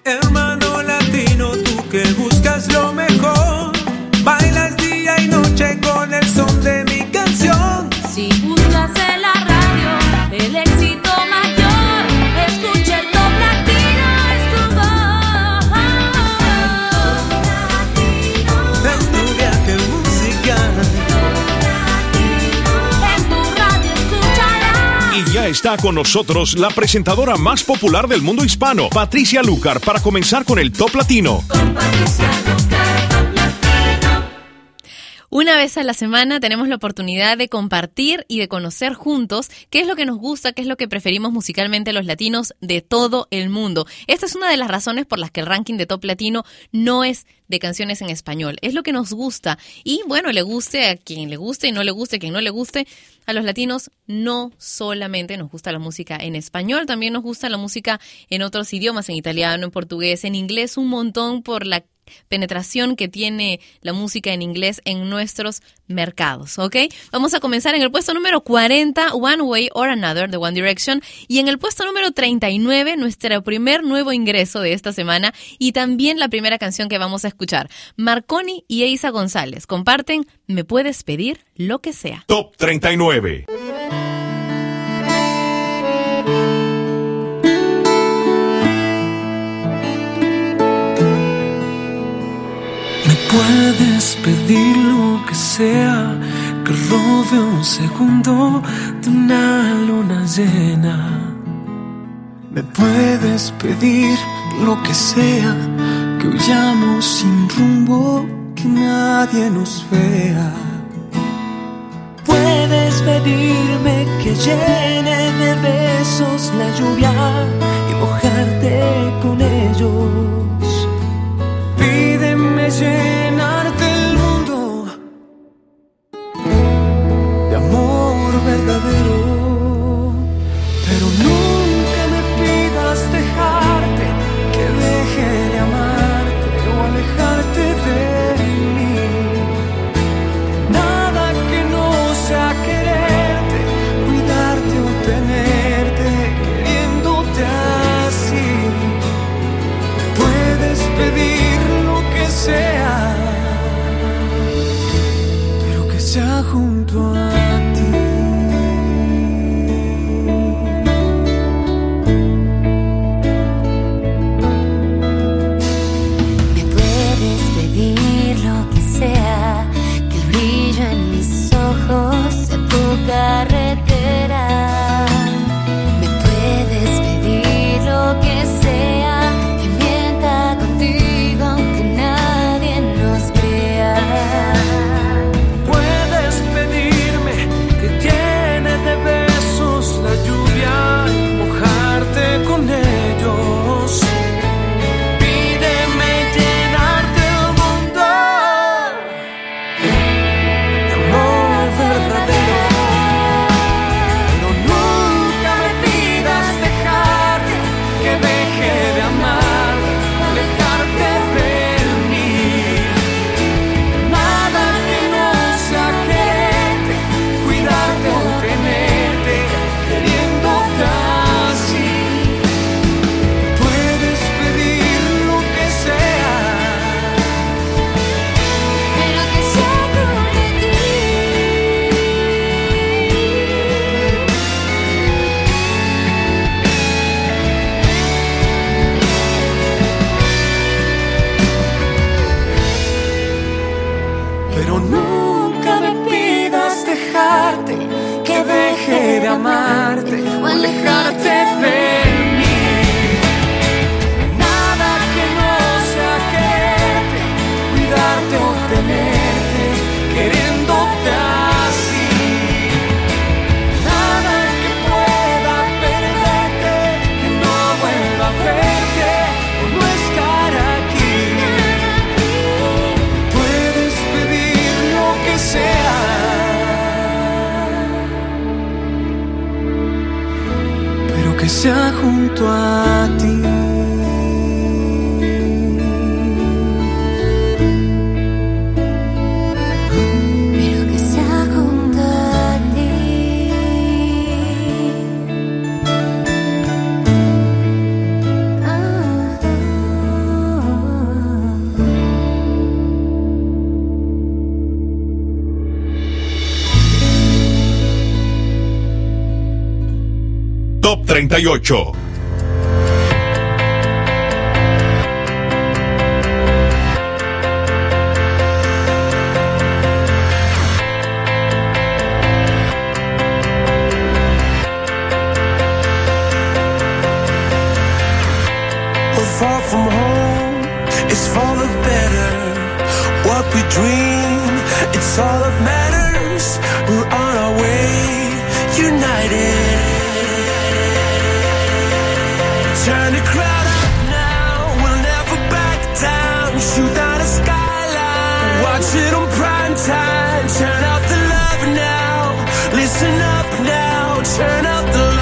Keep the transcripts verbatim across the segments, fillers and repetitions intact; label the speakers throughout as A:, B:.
A: Hermano latino, tú que buscas lo mejor, bailas día y noche con el son de mi canción.
B: Si buscas en la radio el éxito mayor, escucha el Top Latino, es tu voz.
A: Estudiante musical.
B: En tu radio escucharás.
C: Y ya está con nosotros la presentadora más popular del mundo hispano, Patricia Lucar, para comenzar con el Top Latino.
B: Con Patricia Lucar, Top Latino.
D: Una vez a la semana tenemos la oportunidad de compartir y de conocer juntos qué es lo que nos gusta, qué es lo que preferimos musicalmente los latinos de todo el mundo. Esta es una de las razones por las que el ranking de Top Latino no es de canciones en español. Es lo que nos gusta y, bueno, le guste a quien le guste y no le guste a quien no le guste. A los latinos no solamente nos gusta la música en español, también nos gusta la música en otros idiomas, en italiano, en portugués, en inglés, un montón por la penetración que tiene la música en inglés en nuestros mercados, ¿ok? Vamos a comenzar en el puesto número cuarenta, One Way or Another, de One Direction, y en el puesto número treinta y nueve, nuestro primer nuevo ingreso de esta semana y también la primera canción que vamos a escuchar. Marconi y Eiza González comparten Me Puedes Pedir Lo Que Sea.
C: Top treinta y nueve.
A: Puedes pedir lo que sea, que robe un segundo de una luna llena. Me puedes pedir lo que sea, que huyamos sin rumbo, que nadie nos vea. Puedes pedirme que llene de besos la lluvia y mojarte con ellos. Pídeme llenarte el mundo de amor verdadero, pero nunca me pidas dejarte, que deje de amarte o alejarte de mí. Nada que no sea quererte, cuidarte o tenerte, queriéndote así. Puedes pedir sea, pero que sea junto a ti.
B: Me puedes pedir lo que sea, que el brillo en mis ojos sea tu carretera. Me puedes pedir lo que sea, que mienta contigo aunque nadie nos crea.
A: Puedes pedirme que llene de besos la lluvia y mojarte con ellos. Pídeme llenarte el mundo de amor verdadero, pero nunca me pidas dejarte, que deje de amar, alejarte de mí. Nada que no sea quererte, cuidarte o tenerte, queriéndote así. Puedes pedir lo que sea,
B: Pero que sea junto a ti.
A: pero nunca me pidas dejarte, que deje de amarte o alejarte de mí. Nada que no sea quererte, cuidarte o tenerte, queriéndote así. Nada que pueda perderte, que no vuelva a verte o no estar aquí. Puedes pedir lo que sea, pero que sea junto a ti.
B: Pero que sea junto a ti. Ah.
C: treinta y ocho.
A: Far from home, it's for the better. What we dream, it's all that matters. We're on our way, united. Turn the crowd up now, we'll never back down. Shoot down a skyline, watch it on prime time. Turn out the love now, listen up now, turn up the love.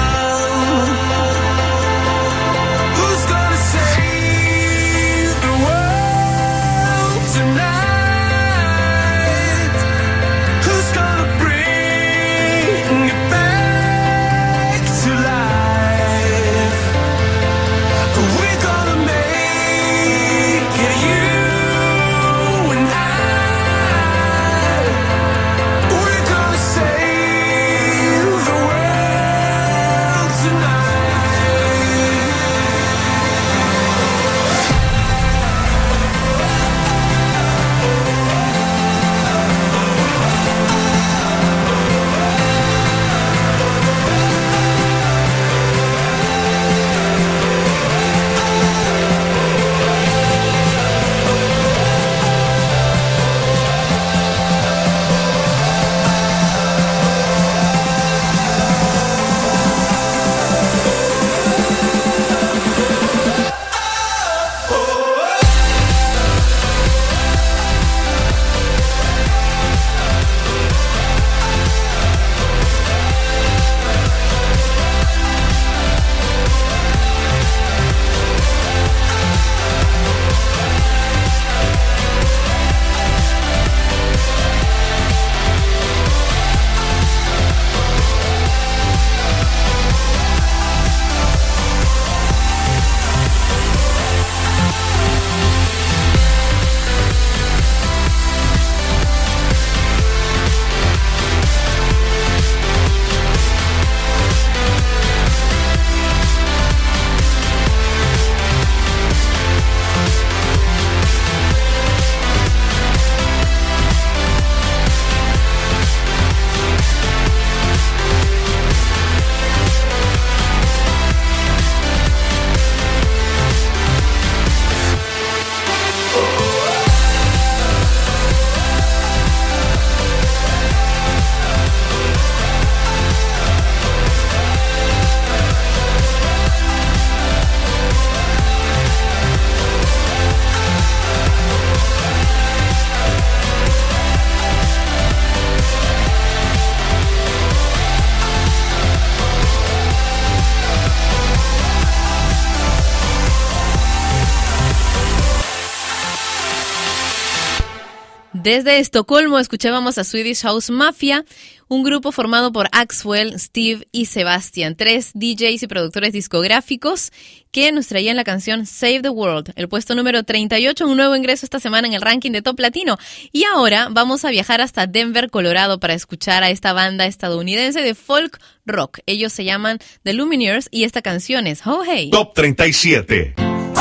D: Desde Estocolmo escuchábamos a Swedish House Mafia, un grupo formado por Axwell, Steve y Sebastian, tres D Js y productores discográficos que nos traían la canción Save the World, el puesto número treinta y ocho, un nuevo ingreso esta semana en el ranking de Top Latino. Y ahora vamos a viajar hasta Denver, Colorado, para escuchar a esta banda estadounidense de folk rock. Ellos se llaman The Lumineers y esta canción es Oh Hey.
C: Top treinta y siete.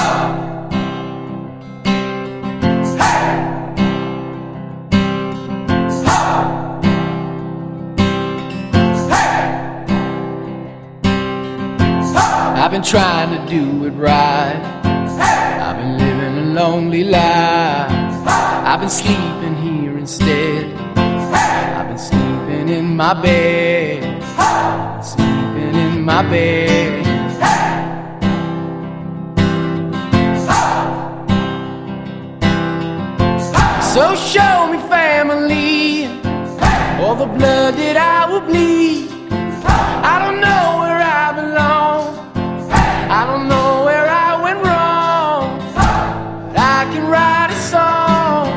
E: I've been trying to do it right. I've been living a lonely life. I've been sleeping here instead. I've been sleeping in my bed. I've been sleeping in my bed. So show me family, all the blood that I will bleed. I don't know where I belong. I don't know where I went wrong, but I can write a song.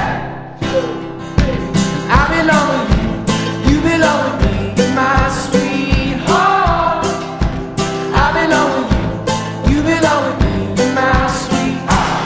E: I belong with you, you belong with me, my sweetheart. I belong with you, you belong with me, my sweetheart.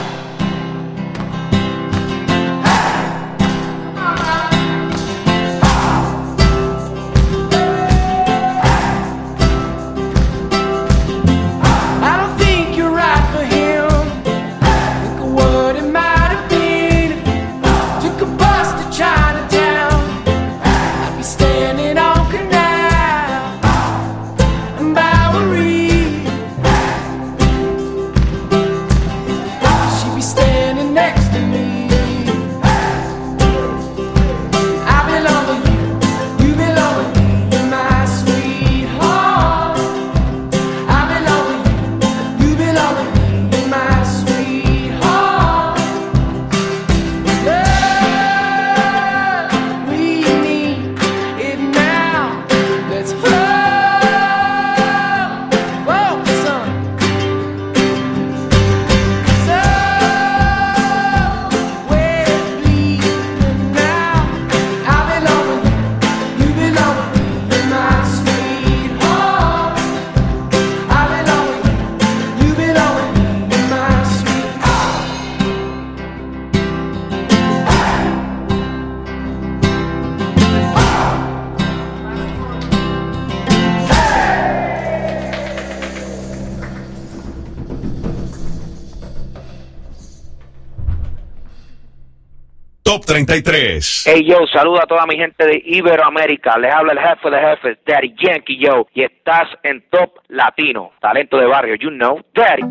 C: Top treinta y tres.
F: Hey, yo, saluda a toda mi gente de Iberoamérica. Les habla el jefe de jefes, Daddy Yankee, yo. Y estás en Top Latino. Talento de barrio, you know, Daddy.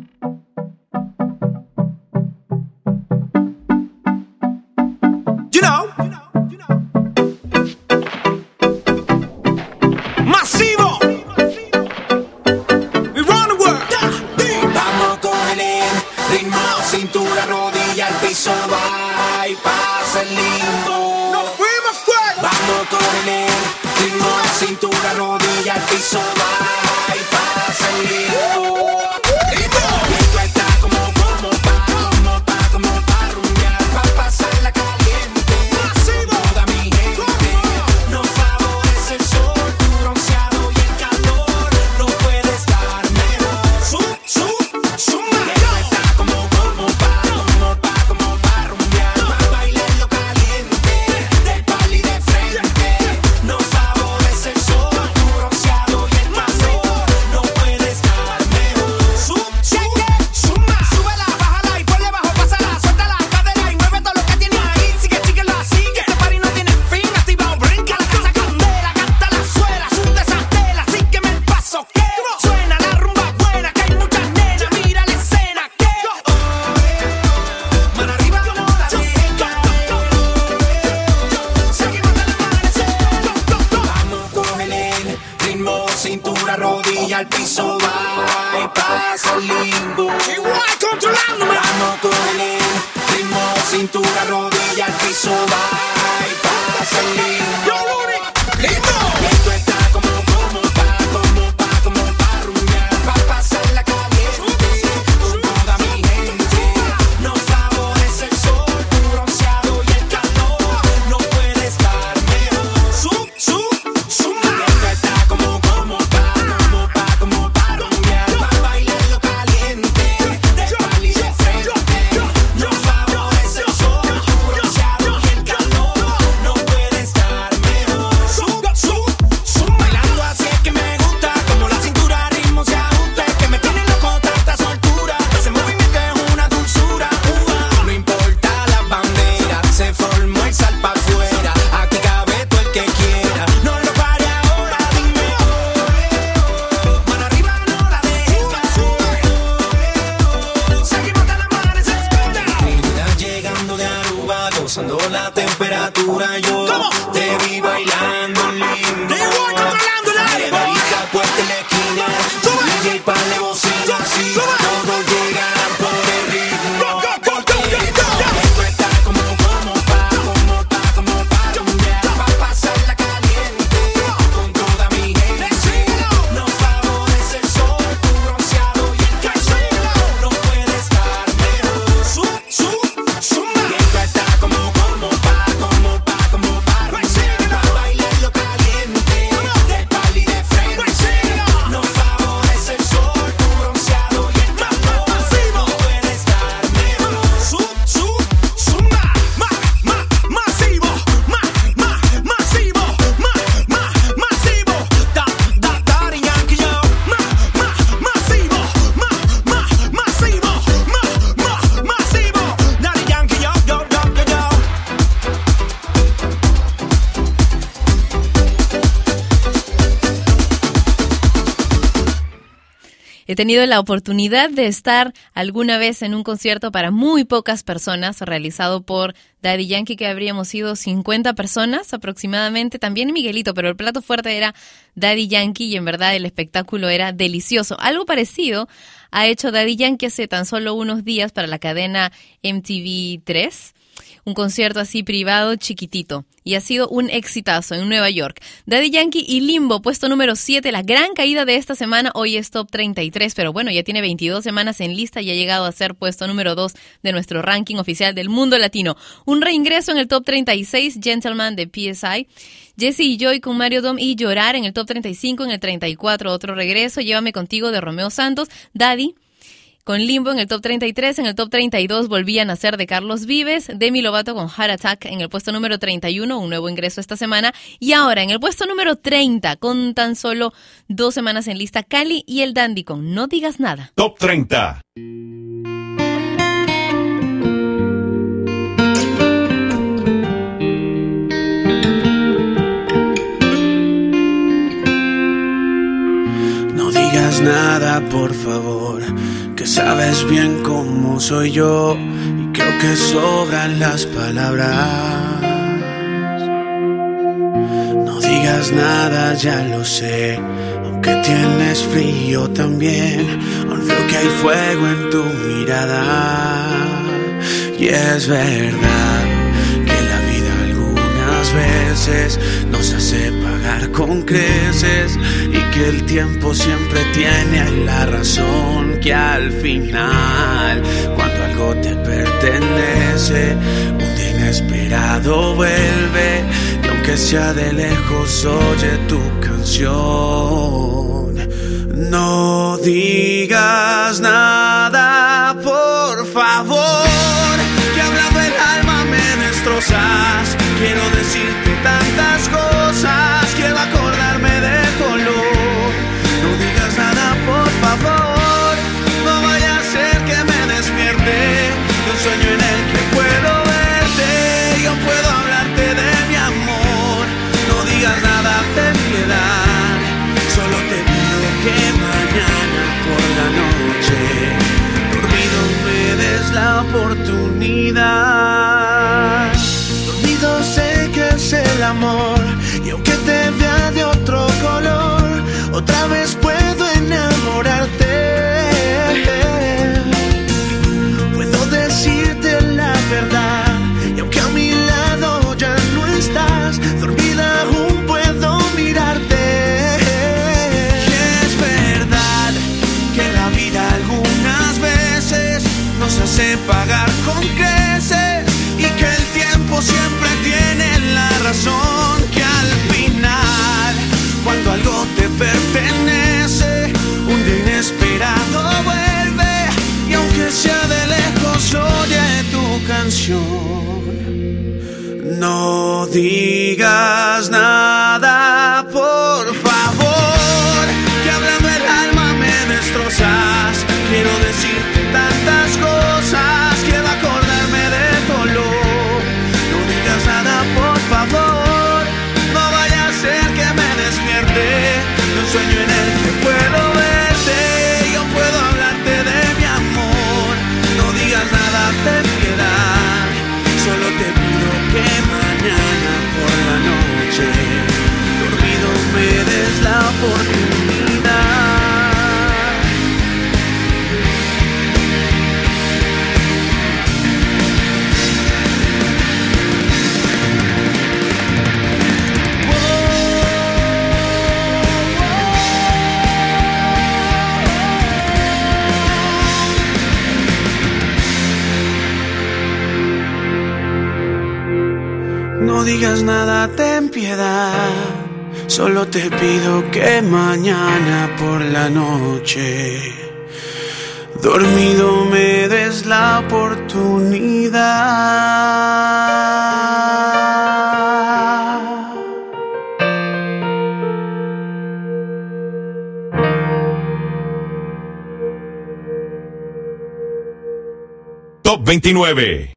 A: You know, masivo. We run the world.
G: Vamos con el ritmo, cintura, rodilla, al piso, va y pasa el limbo.
A: Nos fuimos fuera.
G: Vamos con el ritmo, cintura, rodilla, al piso, va y pasa el limbo. Esto está como, como pa, como pa, como pa rumbear, pa pasar la caliente. Toda mi gente nos favorece el sol, tu bronceado y el calor. No puede estar mejor.
A: Su, su, suma.
G: Esto está como, como pa, como pa, como pa rumbear, pa bailar lo caliente, de pal y de frente. Nos favorece el sol, tu bronceado y el calor. No puede estar mejor.
A: Su, su, suma. Súbela, bájala y ponle bajo, pásala, suelta la cadera y mueve todo lo que tiene ahí. Sigue, sigue, la sigue. Este party no tiene fin, activa o brinca la casa candela, canta la suela, sunta esa tela, sígueme el paso que suena la rumba buena, que hay muchas nenas, mira la escena que
G: Mano arriba, no la dejes caer.
A: seguimos hasta el amanecer.
G: Vamos con el ritmo, cintura, rodilla, al piso, va y pasa el limbo.
A: Igual controlándome.
G: Vamos con el ritmo, cintura, rodilla, al piso, va y pasa el limbo.
A: Yo, Rudy, lindo.
G: Esto está como, como pa, como pa, como pa rumbear, pa pasar la caliente. Con toda mi gente nos favorece el sol, tu bronceado y el calor. No puede estar mejor.
A: Su, su, suma.
G: Esto está como, como pa, como pa, como pa rumbear, pa bailar lo caliente, de pal y de frente. Nos favorece el sol, tu bronceado y el calor. No puede estar mejor.
A: Su, su, suma.
G: Bailando así es que me gusta, como la cintura al ritmo se ajusta, es que me tiene loco tanta soltura. Ese movimiento es una dulzura. Uva. No importa las banderas, se formó el sal pa' afuera. Aquí cabe todo el que quiera. No lo pare ahora, dime oh. Mano arriba, no la dejes caer.
A: Seguimos hasta el amanecer.
G: Trinidad llegando de Aruba, gozando la temperatura. Yo te vi bailando lindo.
A: Igual controlando el aire, boy.
G: Margarita, puesta en la esquina. D J pa' de bocina, así. Todos llegan por el ritmo.
A: Go, go, go, go, go, go.
G: Esto está como, como pa, como pa, como pa rumbear, pa pasar la caliente. Con toda mi gente nos favorece el sol, tu bronceado y el calor. No puede estar mejor.
A: Su, su, suma.
G: Esto está como, como pa, como pa, como pa rumbear, pa bailar lo caliente, de pal y de frente. Nos favorece el sol, tu bronceado y el calor. No puede estar mejor.
A: Su, su, suma. Ma, ma, masivo. Ma, ma, masivo. Ma, ma, masivo. Da, da, Daddy Yankee, yo. Ma, ma, masivo. Ma, ma, masivo. Ma, ma, masivo. Daddy Yankee, yo, yo, yo, yo, yo.
D: He tenido la oportunidad de estar alguna vez en un concierto para muy pocas personas, realizado por Daddy Yankee, que habríamos sido cincuenta personas aproximadamente, también Miguelito, pero el plato fuerte era Daddy Yankee y en verdad el espectáculo era delicioso. Algo parecido ha hecho Daddy Yankee hace tan solo unos días para la cadena M T V tres. Un concierto así privado chiquitito y ha sido un exitazo en Nueva York. Daddy Yankee y Limbo, puesto número siete, la gran caída de esta semana. Hoy es top treinta y tres, pero bueno, ya tiene veintidós semanas en lista y ha llegado a ser puesto número dos de nuestro ranking oficial del mundo latino. Un reingreso en el top treinta y seis, Gentleman de P S I. Jesse y Joy con Mario Dom y Llorar en el top treinta y cinco. En el treinta y cuatro, otro regreso, Llévame Contigo de Romeo Santos. Daddy con Limbo en el top treinta y tres, en el top treinta y dos Volvía a Nacer de Carlos Vives, Demi Lovato con Heart Attack en el puesto número treinta y uno, un nuevo ingreso esta semana, y ahora en el puesto número treinta, con tan solo dos semanas en lista, Cali y el Dandy con No Digas Nada.
C: Top treinta.
A: digas nada, por favor, que sabes bien cómo soy yo y creo que sobran las palabras. No digas nada, ya lo sé, aunque tienes frío también, aún veo que hay fuego en tu mirada. Y es verdad que la vida algunas veces nos hace pagar con creces y que el tiempo siempre tiene la razón, que al final cuando algo te pertenece un día inesperado vuelve y aunque sea de lejos oye tu canción. No digas nada, por favor, que hablando el alma me destrozas. Quiero decirte tantas cosas, quiero acordarme de tu olor. No digas nada, por favor, no vaya a ser que me despierte de un sueño en el que puedo verte. Yo puedo hablarte de mi amor. No digas nada, ten piedad, solo te pido que mañana por la noche dormido me des la oportunidad. Dormido sé que es el amor y aunque te vea de otro color, otra vez puedo enamorarte. Puedo decirte la verdad y aunque a mi lado ya no estás, dormida aún puedo mirarte. Y es verdad que la vida algunas veces nos hace pagar con creces y que el tiempo siempre tiene la razón, que al final cuando algo te pertenece un día inesperado vuelve y aunque sea de lejos oye tu canción. No digas nada, por favor, que hablando el alma me destrozas. Quiero decirte tantas cosas, quiero acordarme de tu olor. No digas nada, por favor, no vaya a ser que me despierte de un sueño en el que puedo verte. Yo puedo hablarte de mi amor. No digas nada, ten piedad, solo te pido que mañana por la noche dormido me des la oportunidad. No digas nada, ten piedad, solo te pido que mañana por la noche dormido me des la oportunidad.
C: Top veintinueve.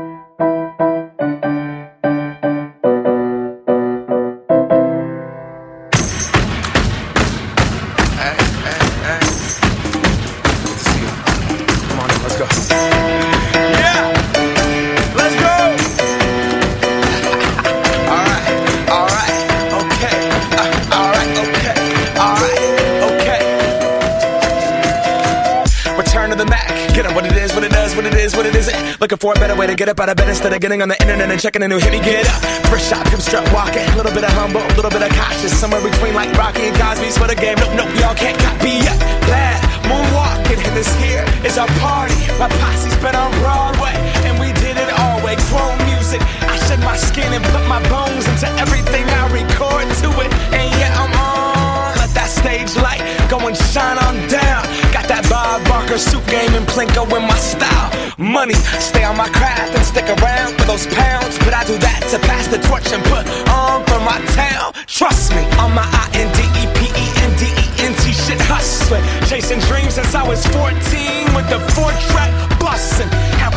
H: Looking for a better way to get up out of bed instead of getting on the internet and checking a new hit. Me get up, first shot, come strut walking. A little bit of humble, a little bit of cautious. Somewhere between like Rocky and Cosby's for the game. Nope, nope, y'all can't copy yet. Glad moonwalking, and this here is our party. My posse's been on Broadway, and we did it all way. Chrome music, I shed my skin and put my bones into everything I record to it. And yeah, I'm on. Let that stage light go and shine on down. Got that Bob Barker suit game and Plinko in my style. Money, stay on my craft and stick around for those pounds. But I do that to pass the torch and put on for my town. Trust me, on my I N D E P E N D E N T shit hustling. Chasing dreams since I was fourteen with the four track bustin'. Have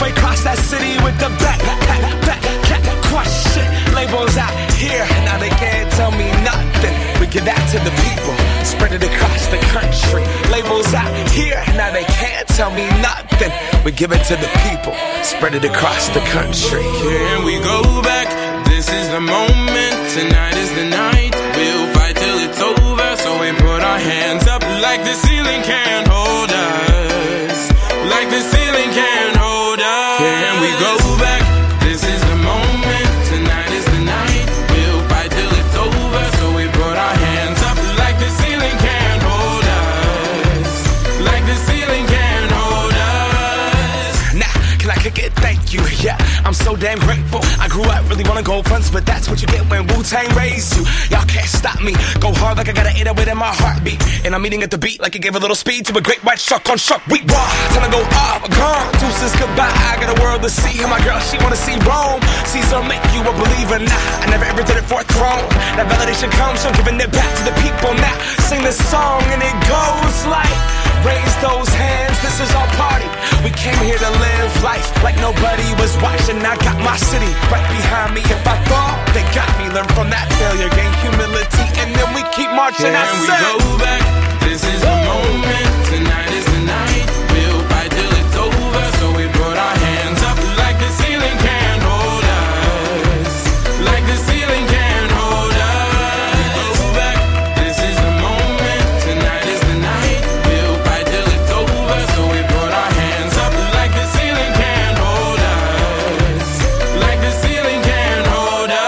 H: halfway across that city with the back, back, back, back, crush shit. Labels out here, now they can't tell me nothing. We give that to the people, spread it across the country. Labels out here, now they can't tell me nothing. We give it to the people, spread it across the country.
I: Here we go back, this is the moment, tonight is the night. We'll fight till it's over, so we put our hands up like the ceiling can't hold us. Like the ceiling can't hold us. Here we go back, this is the moment, tonight is the night. We'll fight till it's over, so we put our hands up like the ceiling can't hold us. Like the ceiling can't hold us.
H: Nah, can I kick it? Thank you, yeah, I'm so damn grateful. I grew up really wanna go fronts, but that's what you get when Wu-Tang raised you. Y'all can't stop me, go hard like I got an eight oh eight in my heartbeat. And I'm eating at the beat like it gave a little speed to a great white shark on shark week. Raw, time to go up, gone, deuces goodbye. I got a world to see, and my girl, she wanna see Rome. Caesar make you a believer, nah, I never ever did it for a throne. That validation comes from giving it back to the people. Now, sing this song and it goes like, raise those hands, this is our party. We came here to live life like nobody was watching. I got my city right behind me. If I fall, they got me. Learn from that failure, gain humility, and then we keep marching.
I: Yeah,
H: I
I: and we
H: said,
I: go back, this is the moment, tonight is the night. We'll fight till it's over, so we put our hands up like the ceiling can't hold us. Like the ceiling can't hold us. We go back, this is the moment, tonight is the night. We'll fight till it's over, so we put our hands up like the ceiling can't hold us. Like the ceiling can't hold us.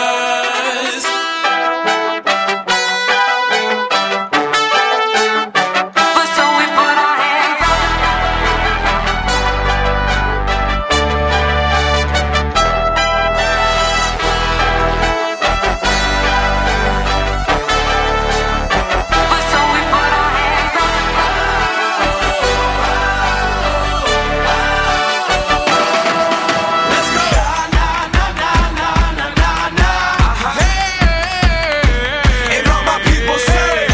H: and all my people say,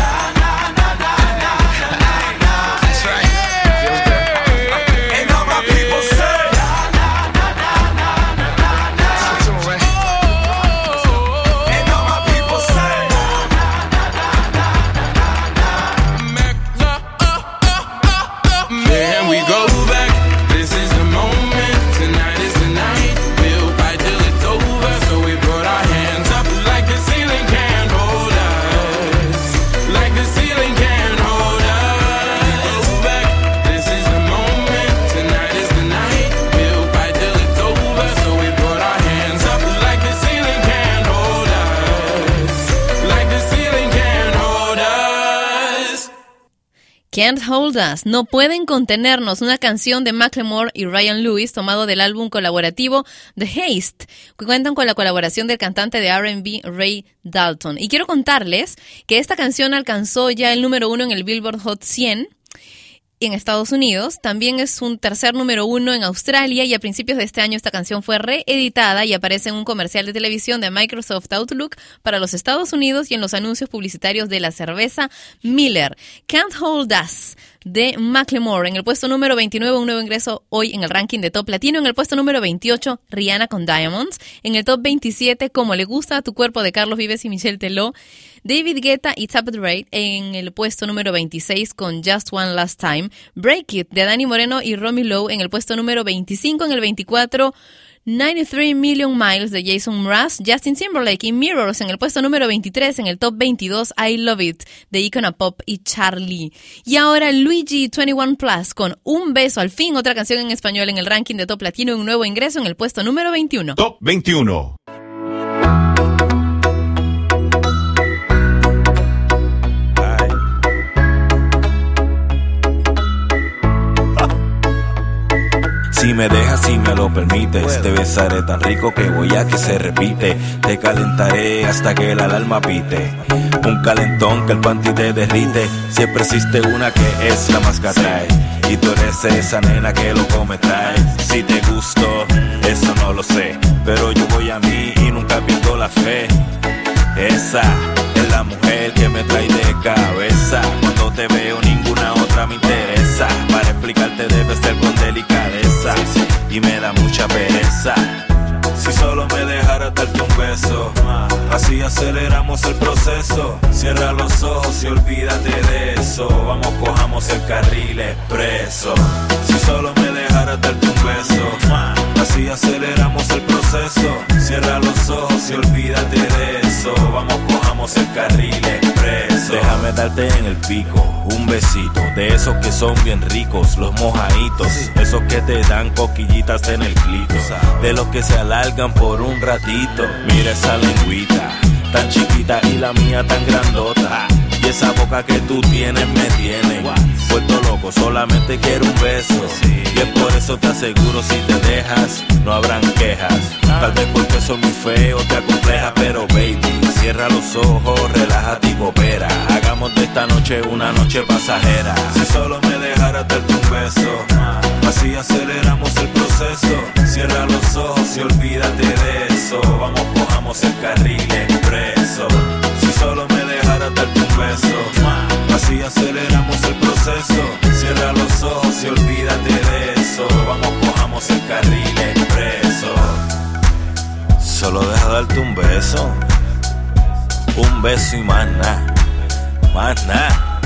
H: that's right. And all my people say, and all my people say,
I: Here we go back, this is the moment, tonight is the night. We'll fight till it's over, so we put our hands up like the ceiling can't hold us. Like the ceiling can't hold us. Go back, this is the moment, tonight is the night. We'll fight till it's over, so we put our hands up like the ceiling can't hold us. Like the ceiling can't hold us.
D: Can't Hold Us, No Pueden Contenernos, una canción de Macklemore y Ryan Lewis tomado del álbum colaborativo The Haste, que cuentan con la colaboración del cantante de R and B Ray Dalton. Y quiero contarles que esta canción alcanzó ya el número uno en el Billboard Hot cien en Estados Unidos. También es un tercer número uno en Australia, y a principios de este año esta canción fue reeditada y aparece en un comercial de televisión de Microsoft Outlook para los Estados Unidos y en los anuncios publicitarios de la cerveza Miller. Can't Hold Us, de Macklemore. En el puesto número veintinueve, un nuevo ingreso hoy en el ranking de Top Latino. En el puesto número veintiocho, Rihanna con Diamonds. En el Top veintisiete, Como le gusta a tu cuerpo, de Carlos Vives y Michelle Teló. David Guetta y Tap It Right en el puesto número veintiséis con Just One Last Time. Break It, de Dani Moreno y Romy Lowe en el puesto número veinticinco. En el veinticuatro, noventa y tres Million Miles de Jason Mraz. Justin Timberlake y Mirrors en el puesto número veintitrés. En el top veintidós, I Love It de Icona Pop y Charlie. Y ahora Luigi veintiuno Plus con Un Beso, al fin otra canción en español en el ranking de Top Latino, un nuevo ingreso en el puesto número veintiuno.
C: Top veintiuno.
J: Si me dejas, si me lo permites, te besaré tan rico que voy a que se repite. Te calentaré hasta que el alarma pite. Un calentón que el panty te derrite. Siempre existe una que es la más que atrae, y tú eres esa nena que loco me trae. Si te gusto, eso no lo sé, pero yo voy a mí y nunca pierdo la fe. Esa es la mujer que me trae de cabeza. Cuando te veo ninguna otra me interesa. Para explicarte debe ser con delicadeza, y me da mucha mucha pereza. Si solo me dejaras darte un beso, así aceleramos el proceso. Cierra los ojos y olvídate de eso. Vamos, cojamos el carril expreso. Si solo me dejaras darte un beso, así aceleramos el proceso. Cierra los ojos y olvídate de eso. Vamos, cojamos el carril expreso. Déjame darte en el pico un besito, de esos que son bien ricos, los mojaditos, esos que te dan coquillitas en el clito, de los que se alargan por un ratito. Mira esa lengüita tan chiquita y la mía tan grandota, y esa boca que tú tienes me tiene vuelto loco, solamente quiero un beso. Y es por eso te aseguro, si te dejas no habrán quejas. Tal vez porque soy muy feo te acompleja, pero baby, cierra los ojos, relájate y coopera. Hagamos de esta noche una noche pasajera. Si solo me dejaras darte un beso, así aceleramos el proceso. Cierra los ojos y olvídate de eso. Vamos, cojamos el carril expreso. Si solo me dejaras darte un beso, así aceleramos el proceso. Cierra los ojos y olvídate de eso. Vamos, cojamos el carril expreso. Solo deja darte un beso, un beso y más nada, más nada.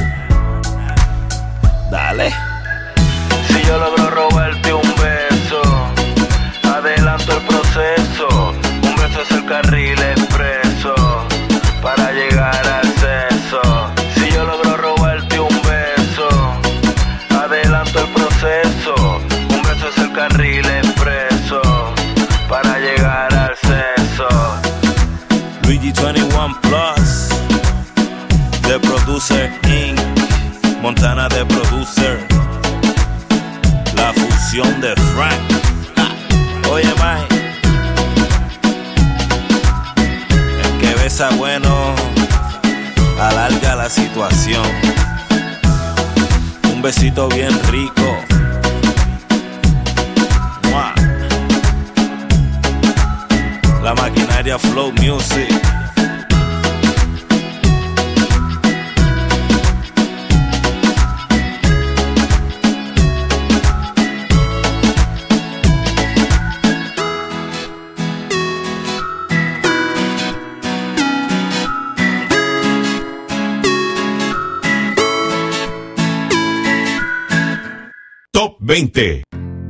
J: Dale. Si yo logro robarte un beso, adelanto el proceso. Un beso es el carril expreso para llegar al sexo. Si yo logro robarte un beso, adelanto el proceso. Un beso es el carril expreso para llegar al sexo. Luigi veintiuno Plus, The Producer incorporated, Montana The Producer, la fusión de Frank. Ja. Oye, Mike, el que besa bueno alarga la situación. Un besito bien rico. ¡Mua! La maquinaria Flow Music.
C: Top veinte.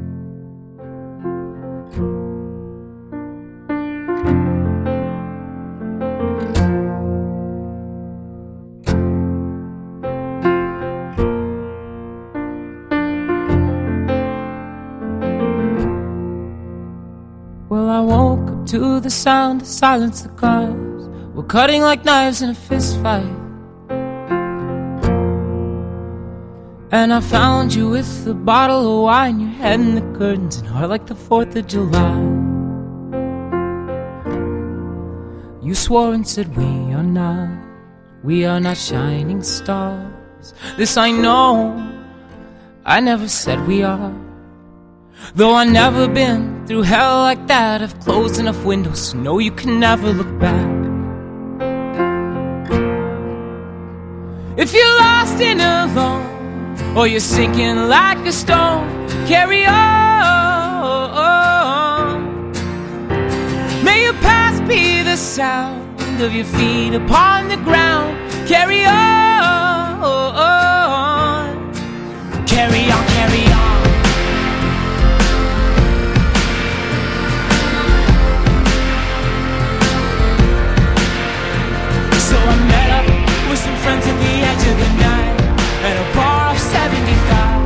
A: Well, I woke up to the sound of silence. The cars were cutting like knives in a fist fight. And I found you with a bottle of wine, your head in the curtains, and heart like the fourth of July. You swore and said we are not, we are not shining stars. This I know, I never said we are. Though I've never been through hell like that, I've closed enough windows to know you can never look back. If you're lost and alone, or you're sinking like a stone, carry on. May your past be the sound of your feet upon the ground. Carry on, carry on, carry on. So I met up with some friends at the edge of the night, at a bar off seventy-five.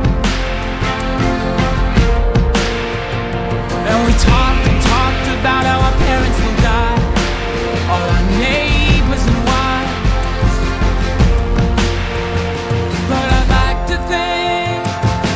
A: And we talked and talked about how our parents will die, all our neighbors and wives. But I'd like to think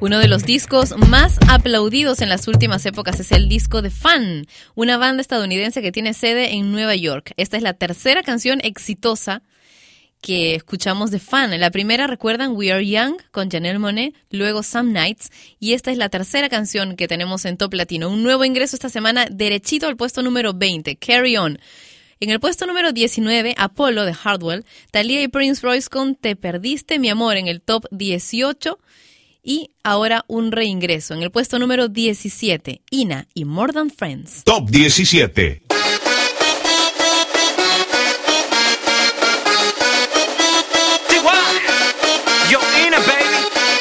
D: Uno de los discos más aplaudidos en las últimas épocas es el disco de Fun, una banda estadounidense que tiene sede en Nueva York. Esta es la tercera canción exitosa que escuchamos de Fun. La primera, recuerdan, We Are Young con Janelle Monáe, luego Some Nights, y esta es la tercera canción que tenemos en Top Latino. Un nuevo ingreso esta semana, derechito al puesto número veinte, Carry On. En el puesto número diecinueve, Apollo de Hardwell, Thalía y Prince Royce con Te Perdiste Mi Amor en el top dieciocho. Y ahora un reingreso en el puesto número diecisiete, Ina y More Than Friends.
C: Top diecisiete.
H: Yo, Ina, baby.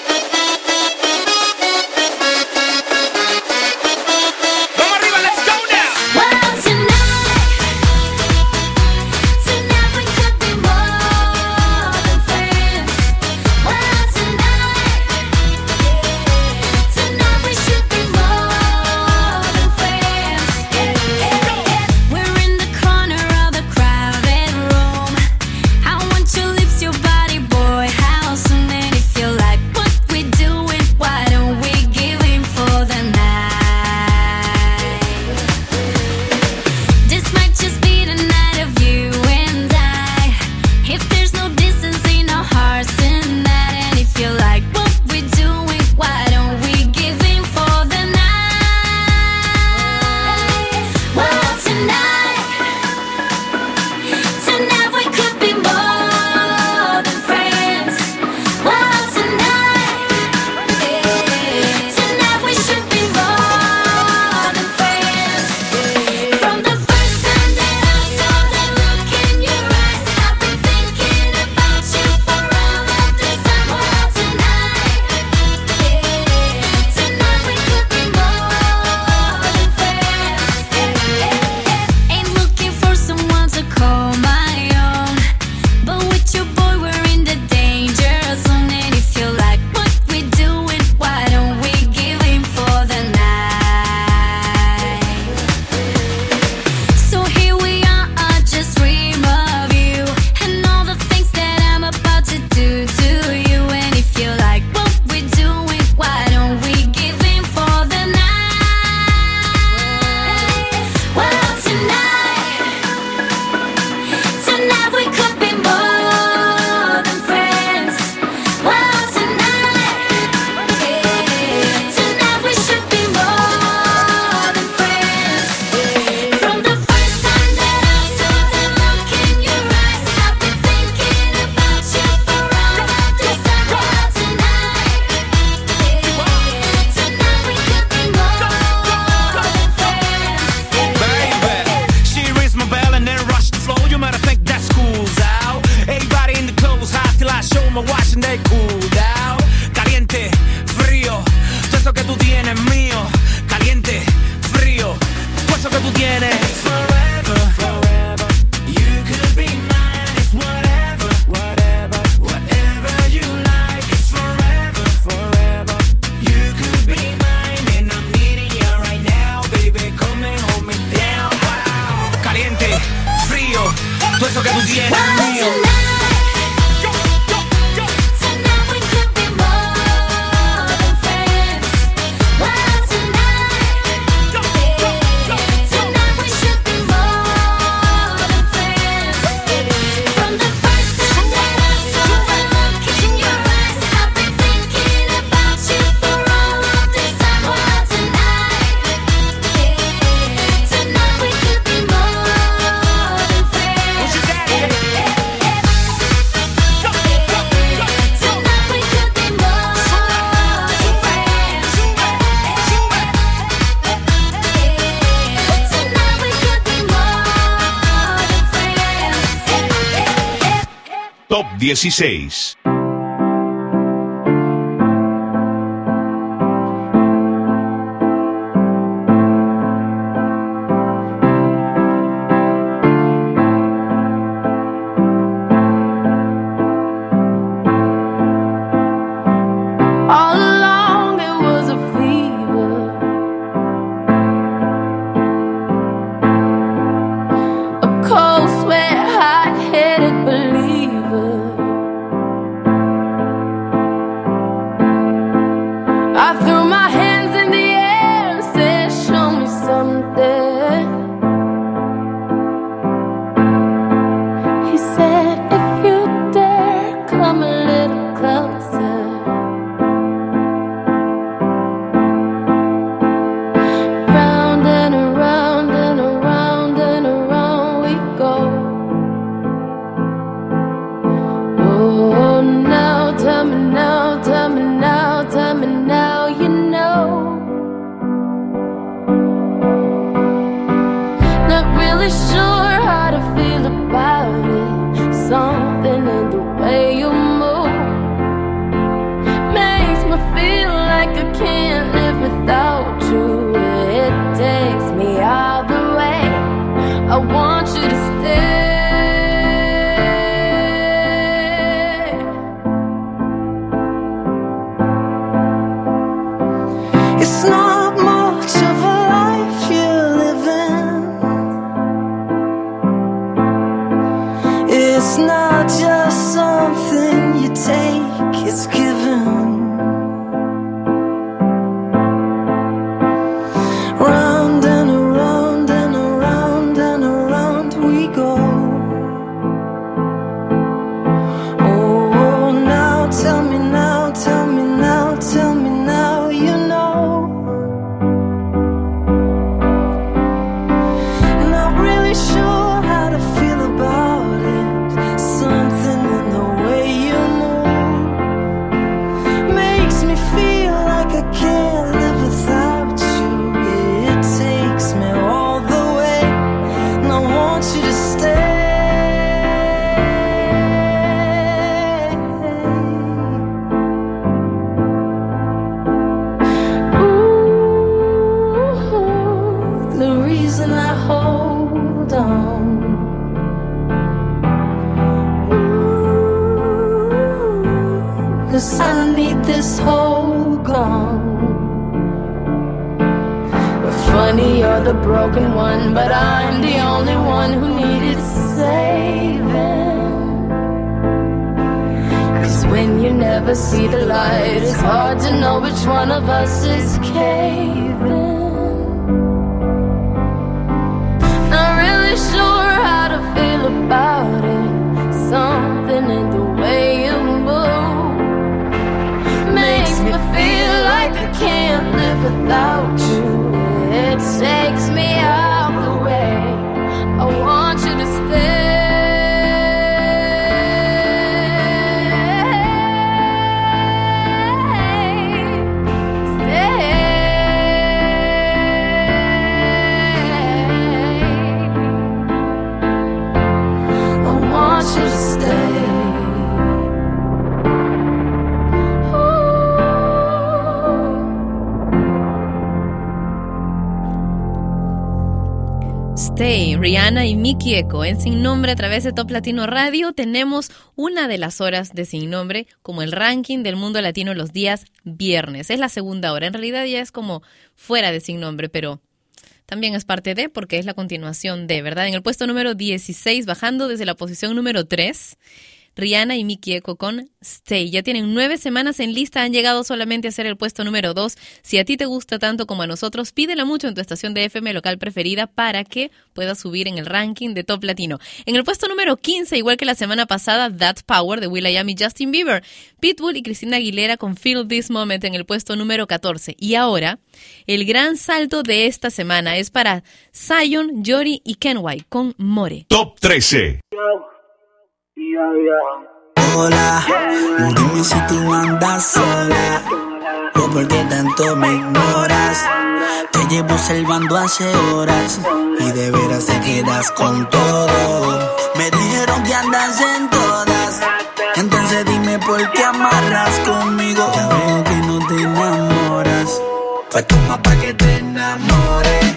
H: Vamos arriba, let's go now.
B: Well, tonight, tonight we could be more than friends. Well, tonight, tonight we should be more than friends. We're in the corner of the crowded room. I want your lips, your body, boy. How soon did it feel like what we doing? Why don't we give in for the night? This might just be the night of you and I. If there's no distance in our hearts tonight, and if you like what we're doing, why don't we give in for the night? Well, tonight, tonight we could be more than friends. Well, tonight, tonight we should be more than friends. From the first time that I saw that look in your eyes, I've been thinking about you for all of this time. Well, tonight, tonight we could be more than friends. Ain't looking for someone to call my own, but with your boy we're in the danger zone. And if you like what we're doing, why don't we give in for the night? So here we are, I just dream of you and all the things that I'm about to do to you. And if you like what we're doing, why don't we give in for the night? Well, tonight, tonight we could be more than friends. Well, tonight, tonight we should be more than friends. From the first time that I saw that look in your eyes, I've been thinking about you for all of this time. Well, tonight, tonight we could be more than friends.
H: Baby, she rings my bell and then rush the floor. You might think that school's out. Everybody in the clothes hot till I show my watch and they cool down. Caliente, frío, todo eso que tú tienes es mío. Caliente, frío, todo eso que tú tienes. Forever, forever, you could be mine. It's whatever, whatever, whatever you like. It's forever, forever, you could be mine. And I'm needing you right now, baby. Come and hold me down. Wow. Caliente, frío, todo eso que tú tienes es
B: Well,
H: mío.
B: tonight, tonight we could be more than friends. Well, tonight, tonight we should be more than friends. From the first time that I saw that look in your eyes, I've been thinking about you for all of this time. Well, tonight, tonight we could be more than friends. Tonight we could be more than friends. Tonight we could be more than friends.
C: Top dieciséis.
E: All along it was a fever, a cold sweat, hot-headed believer.
K: Tell me now, tell me now, tell me now, you know. Not really sure how to feel about it. Something in the way you move makes me feel like I can't live without you. It takes me all the way. I want you to stay.
A: It's not much of a life you're living. It's not just something you take, it's given. Round and around and around and around we go. Oh, now tell me now, tell me now, tell me now, you know. Not really sure how to feel about it. Something in the way you move makes me feel like I can't live without you. It takes me all the way, and I want you to stay. Ooh, the reason I hold on. Ooh, 'cause I need this whole gone. Funny, you're the broken one, but I'm the only one who needed saving. 'Cause when you never see the light, it's hard to know which one of us is caving. Not really sure how to feel about it. Something in the way you move makes me feel like I can't live without you. It takes me out the way. I want you to stay. Stay. I want you to stay.
D: Stay, Rihanna y Miki Eco en Sin Nombre a través de Top Latino Radio. Tenemos una de las horas de Sin Nombre como el ranking del mundo latino los días viernes. Es la segunda hora, en realidad ya es como fuera de Sin Nombre, pero también es parte de, porque es la continuación de, ¿verdad? En el puesto número dieciséis, bajando desde la posición número tres, Rihanna y Miki Eco con Stay. Ya tienen nueve semanas en lista, han llegado solamente a ser el puesto número dos. Si a ti te gusta tanto como a nosotros, pídela mucho en tu estación de F M local preferida para que puedas subir en el ranking de Top Latino. En el puesto número quince, igual que la semana pasada, That Power de will.i.am y Justin Bieber. Pitbull y Cristina Aguilera con Feel This Moment en el puesto número catorce. Y ahora, el gran salto de esta semana es para Zion, Yori y Kenway con More.
C: Top trece.
L: Hola, dime si tú andas sola o por qué tanto me ignoras. Te llevo observando hace horas y de veras te quedas con todo. Me dijeron que andas en todas, entonces dime por qué amarras conmigo. Ya veo que no te enamoras, pues toma pa' que te enamores.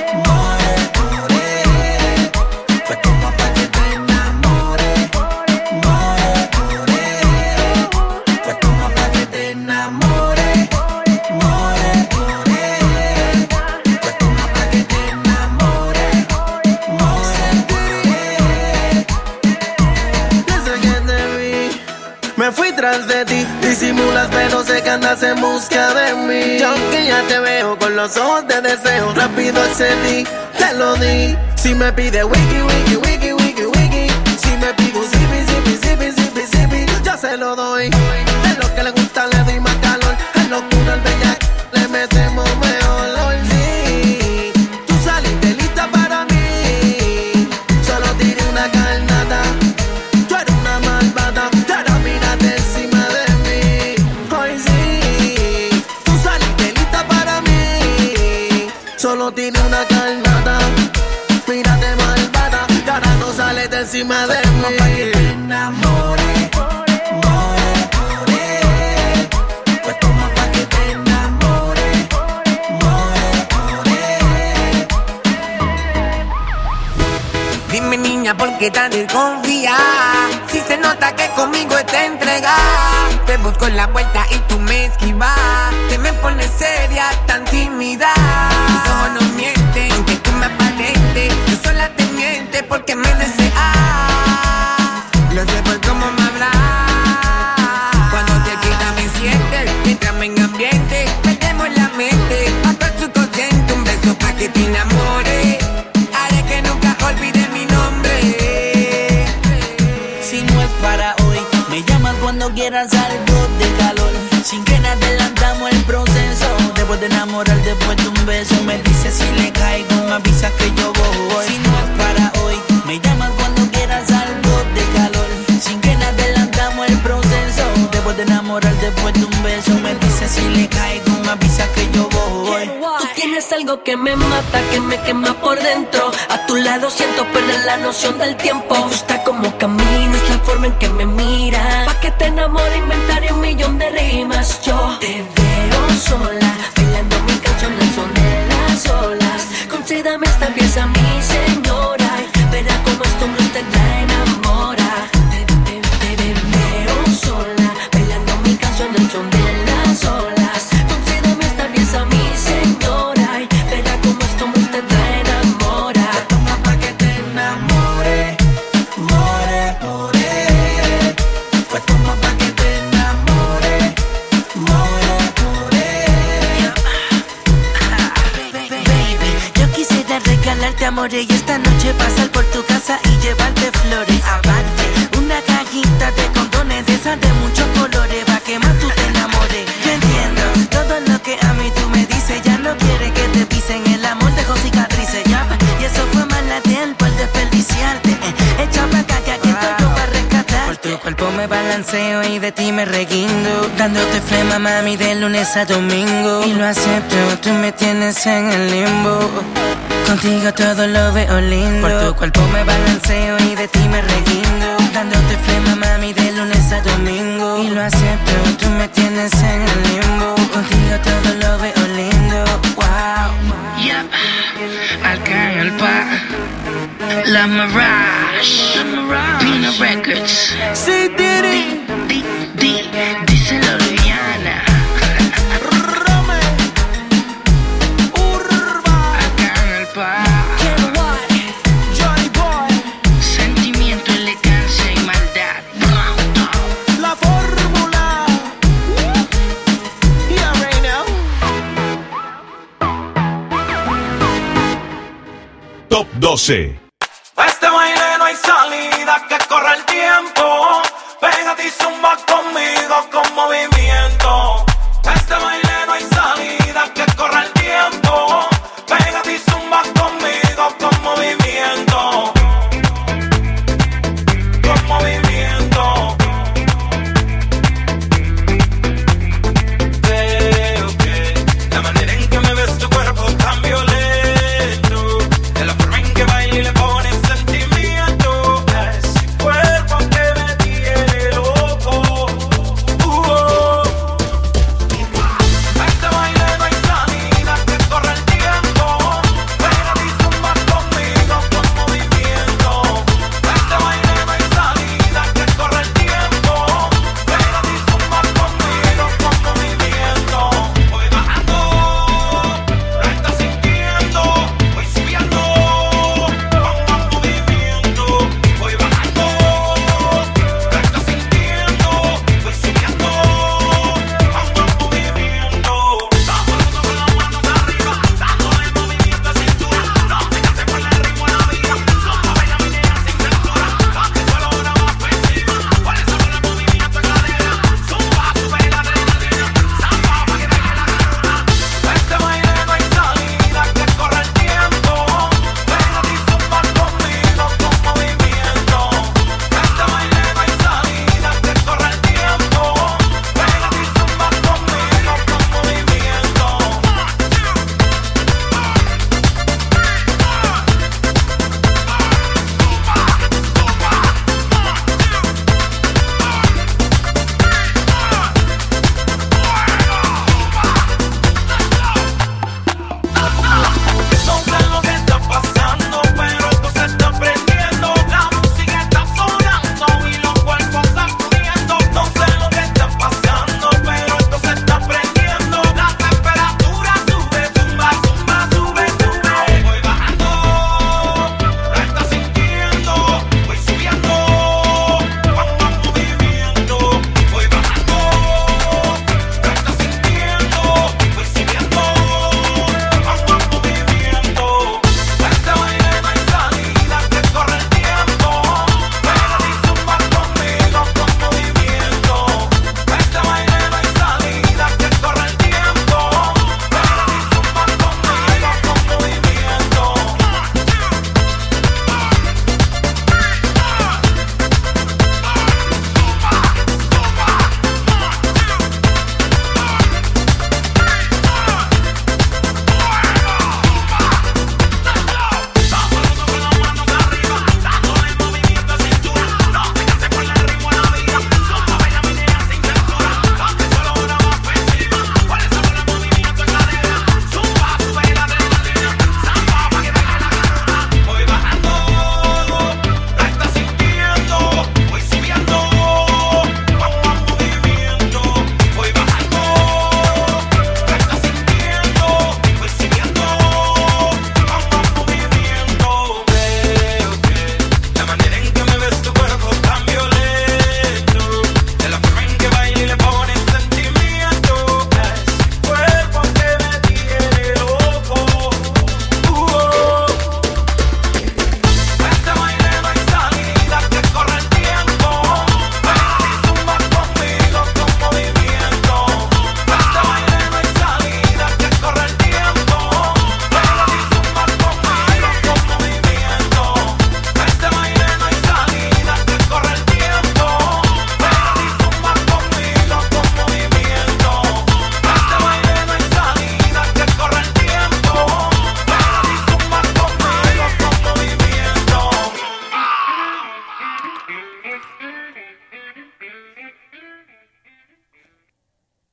E: Me fui tras de ti, disimulas pero sé que andas en busca de mí. Yo que ya te veo con los ojos de deseo, rápido accedí, te lo di. Si me pide wiki, wiki, wiki, wiki, wiki, si me pide un zipi, zipi, zipi, zipi, zipi, yo se lo doy. Es lo que le gusta, le doy más calor. Es locura, el bellac, le metemos mejor hoy. Sí, tú saliste lista para mí, solo tiré una carnada. Tú eres una malvada, pero mírate encima de mí.
L: encima de mí. Pa' que te enamores, more, more. Pues toma pa' que te enamores, more, more.
M: Dime niña, ¿por qué tan desconfía? Si se nota que conmigo te entregas. Te busco en la vuelta y tú me esquivas. Te me pones seria, tan tímida. Mis ojos no mienten, aunque tú me aparentes. Yo sola te miente porque me deseas. Lo sé por cómo me hablas. Cuando te quita me sientes. Entrame en ambiente, perdemos la mente. Hasta el subconsciente, un beso pa' que te enamores. Haré que nunca olvide mi nombre.
L: Si no es para hoy, me llamas cuando quieras algo de calor. Sin que nada adelantamos el proceso. Después de enamorar, después de un beso. Me dice si le caigo, me avisa que yo voy. Si no es para hoy, me llamas cuando quieras algo de calor. Sin que nada adelantamos el proceso. Después de enamorar, después de un beso. Me dice si le caigo, me avisa que yo voy.
N: Tú tienes algo que me mata, que me quema por dentro. A tu lado siento perder la noción del tiempo. Me gusta cómo caminas, la forma en que me miras. Pa' que te enamore inventaré un millón de rimas. Yo te veo sola, bailando mi canción al son de las olas. Concédame esta pieza, mi señora. Verá cómo esto no te la enamora. Te, te, te, te veo sola, bailando mi canción al son de las olas. Concédame esta pieza, mi señora. Verá cómo esto no te la enamora.
L: Toma pa' que te enamore, more, more. Pues toma pa' que te enamore, more, more.
O: Baby, yo quisiera regalarte amores y esta noche pasar por tu casa y llevarte flores. Aparte, una cajita de condones de esas de muchos colores pa' que más tú te enamores. Yo entiendo todo lo que a mí tú me dices. Ya no quiere que te pisen, el amor dejó cicatrices, ya. Y eso fue mala tiempo el desperdiciarte. eh. Echa pa' acá que aquí estoy yo pa' rescatar. Por tu cuerpo me balanceo y de ti me reguindo, dándote flema mami de lunes a domingo. Y lo acepto, tú me tienes en el limbo. Contigo todo lo veo lindo. Por tu cuerpo me balanceo y de ti me reguindo, dándote flema mami de lunes a domingo. Y lo acepto, tú me tienes en el limbo. Contigo todo lo veo lindo. Wow. Yeah. Alcanza La Mirage, Pino Records.
L: Sí, Diddy.
O: Di, di, díselo Rihanna.
L: Rome. Urba.
O: Acá en el pa.
L: Johnny Boy.
O: Sentimiento, elegancia y maldad.
L: La fórmula. Yeah, right now.
C: Top doce.
G: A este baile no hay salida, que corre el tiempo. Pégate y zumba conmigo con movimiento. A este baile no hay salida, que corre el tiempo. Pégate y zumba conmigo con movimiento. Con movimiento. Veo que la manera en que me ves tu cuerpo tan violento, de la forma en que baila y le pones sentimiento, ese cuerpo que me tiene loco.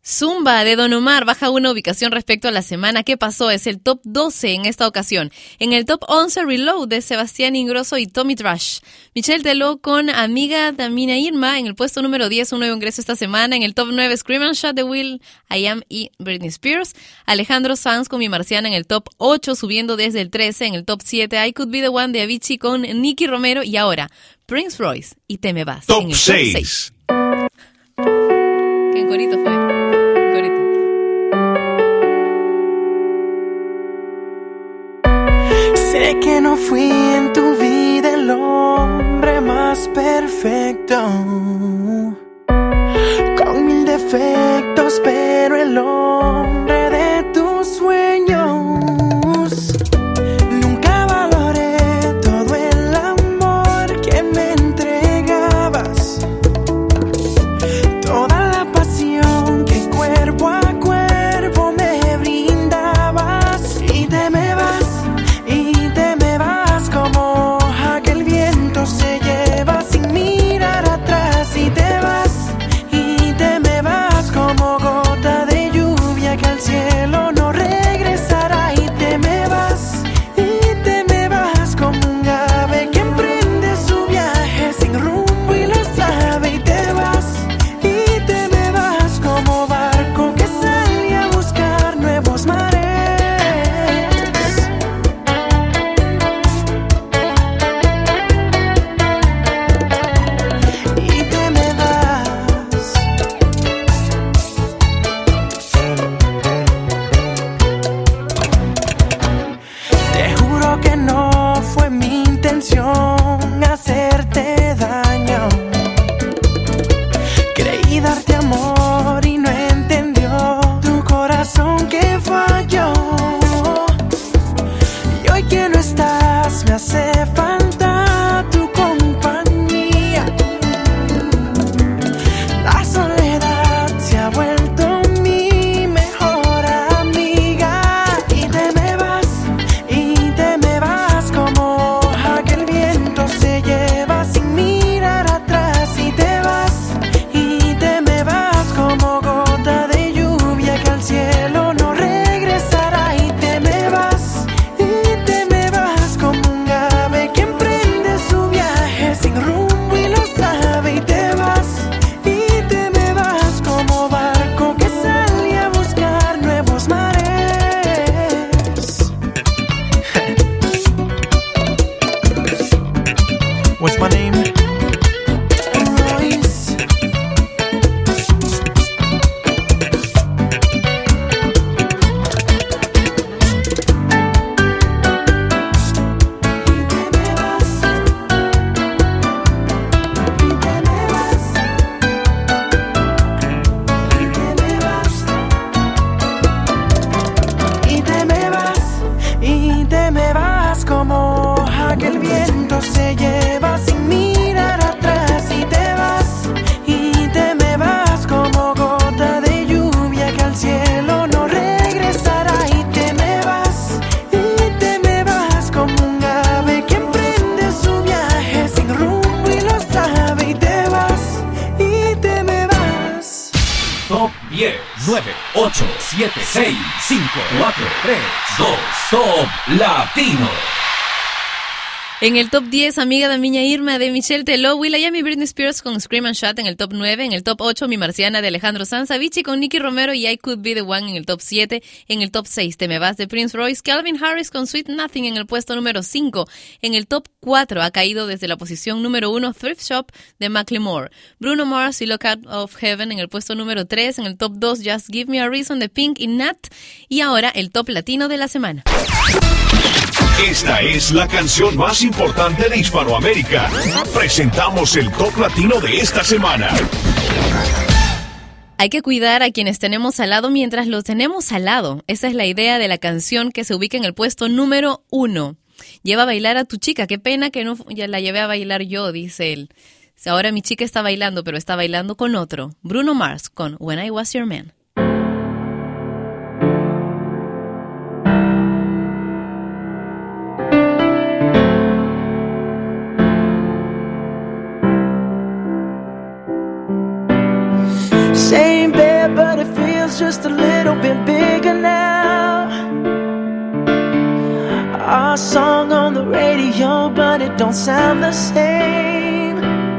D: Zumba de Don Omar baja una ubicación respecto a la semana que pasó. Es el top doce en esta ocasión. En el top once, Reload de Sebastián Ingrosso y Tommy Trash. Michelle Teló con Amiga Damina Irma en el puesto número diez, un nuevo ingreso esta semana. En el top nueve, Scream and Shout de Will I Am y Britney Spears. Alejandro Sanz con Mi Marciana en el top ocho, subiendo desde el trece. En el top siete, I Could Be The One de Avicii con Nicky Romero. Y ahora, Prince Royce y Te Me Vas.
C: Top
D: en el
C: seis.
D: top seis. ¿Qué corito fue?
A: Sé que no fui en tu vida el hombre más perfecto, con mil defectos, pero el hombre de tus sueños. Nunca valoré todo el amor que me entregabas, toda la pasión que cuerpo a cuerpo me brindabas. Y te me vas, como aquel viento se lleva sin mirar atrás. Y te vas, y te me vas como gota de lluvia que al cielo no regresará. Y te me vas, y te me vas como un ave que emprende su viaje sin rumbo y lo sabe. Y te vas, y te me vas como barco que sale a buscar nuevos mares. Hacerte daño, creí darte amor y no entendió tu corazón que falló. Y hoy que no estás me hace falta tu compañía. La soledad se ha vuelto mi mejor amiga. Y te me vas, y te me vas como aquel viento se lleva sin mirar atrás. Y te vas, y te me vas como gota de lluvia que al cielo no regresará. Y te me vas, y te me vas como un ave que emprende su viaje sin rumbo y lo sabe. Y te vas, y te me vas como barco que sale a buscar nuevos mares. What's my name? Royce. Y te me vas, y te me vas como aquel viento se lleva sin mirar atrás. Y te vas, y te me vas como gota de lluvia que al cielo no regresará. Y te me vas, y te me vas como un ave que emprende su viaje sin rumbo y lo sabe. Y te vas, y te me vas.
P: Top diez, nueve, ocho, siete, seis, cinco, cuatro, tres, dos, Top Latino.
D: En el top diez, Amiga de Miña Irma de Michelle Teló, Will I Am y Britney Spears con Scream and Shout en el top nueve. En el top ocho, Mi Marciana de Alejandro Sanz, Avicii con Nicky Romero y I Could Be The One en el top siete. En el top seis, Te Me Vas de Prince Royce, Calvin Harris con Sweet Nothing en el puesto número cinco. En el top cuatro ha caído desde la posición número uno, Thrift Shop de Macklemore. Bruno Mars y Look Out of Heaven en el puesto número tres. En el top dos, Just Give Me a Reason de Pink y Nat. Y ahora el top latino de la semana.
C: Esta es la canción más importante de Hispanoamérica. Presentamos el top latino de esta semana.
D: Hay que cuidar a quienes tenemos al lado mientras los tenemos al lado. Esa es la idea de la canción que se ubica en el puesto número uno. Lleva a bailar a tu chica. Qué pena que no ya la llevé a bailar yo, dice él. Ahora mi chica está bailando, pero está bailando con otro. Bruno Mars con When I Was Your Man.
A: Same bed, but it feels is just a little bit bigger now. Our song on the radio, but it don't sound the same.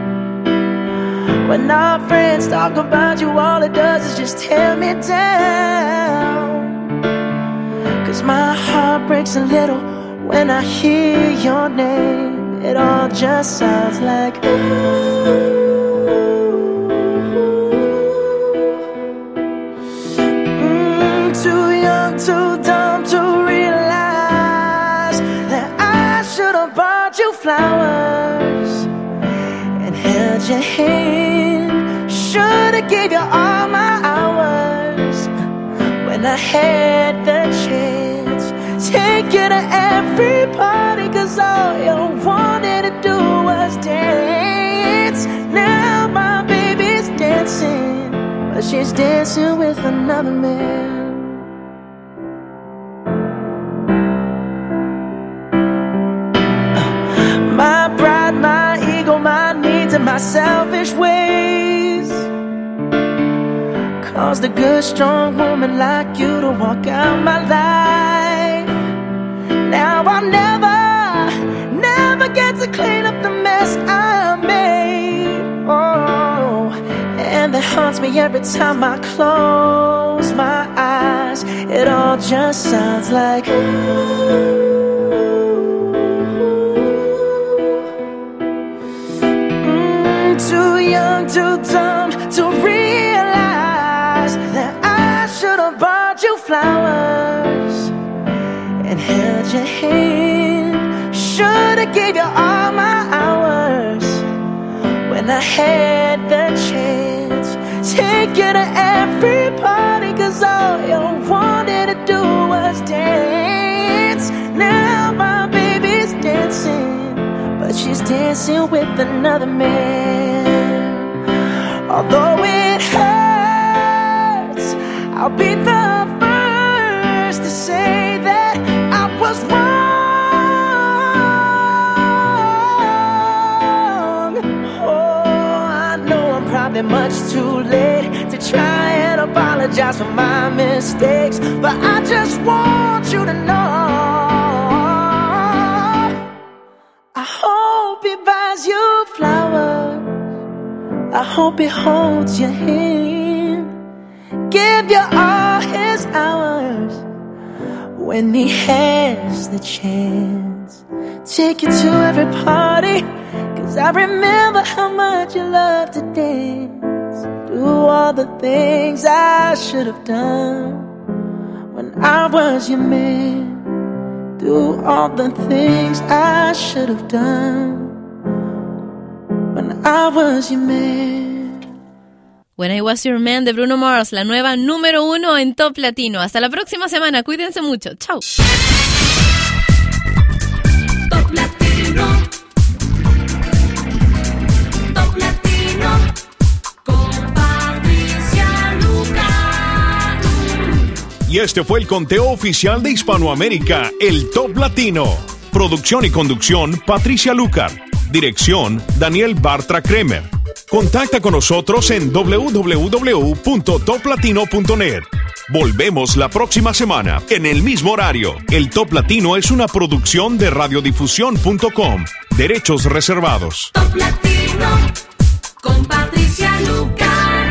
A: When our friends talk about you, all it does is just tear me down. Cause my heart breaks a little when I hear your name. It all just sounds like ooh. Too young, too dumb to realize that I should have bought you flowers and held your hand. Should have gave you all my hours when I had the chance. Take you to every party, cause all you wanted to do was dance. Now my baby's dancing, but she's dancing with another man. My pride, my ego, my needs, and my selfish ways caused a good, strong woman like you to walk out my life. Now I'll never, never get to clean up the mess I made. Oh, and that haunts me every time I close my eyes. It all just sounds like ooh. Too young, too dumb to realize that I should have bought you flowers and held your hand. Should have gave you all my hours when I had the chance. Take you to every party, cause all you wanted to do was dance. Now my baby's dancing, but she's dancing with another man. Although it hurts, I'll be the first to say that I was wrong. Oh, I know I'm probably much too late to try and apologize for my mistakes, but I just want you to know I hope he buys you flowers. I hope he holds your hand, give you all his hours when he has the chance. Take you to every party, cause I remember how much you loved to dance. Do all the things I should have done when I was your man. Do all the things I should have done when I was your man.
D: When I Was Your Man de Bruno Mars, la nueva número uno en Top Latino. Hasta la próxima semana, cuídense mucho. Chao.
B: Top Latino. Top Latino. Con Patricia Lucar.
C: Y este fue el conteo oficial de Hispanoamérica, el Top Latino. Producción y conducción, Patricia Lucar. Dirección, Daniel Bartra Kremer. Contacta con nosotros en doble u doble u doble u punto top latino punto net. Volvemos la próxima semana, en el mismo horario. El Top Latino es una producción de radiodifusión punto com. Derechos reservados.
B: Top Latino con Patricia Lucar.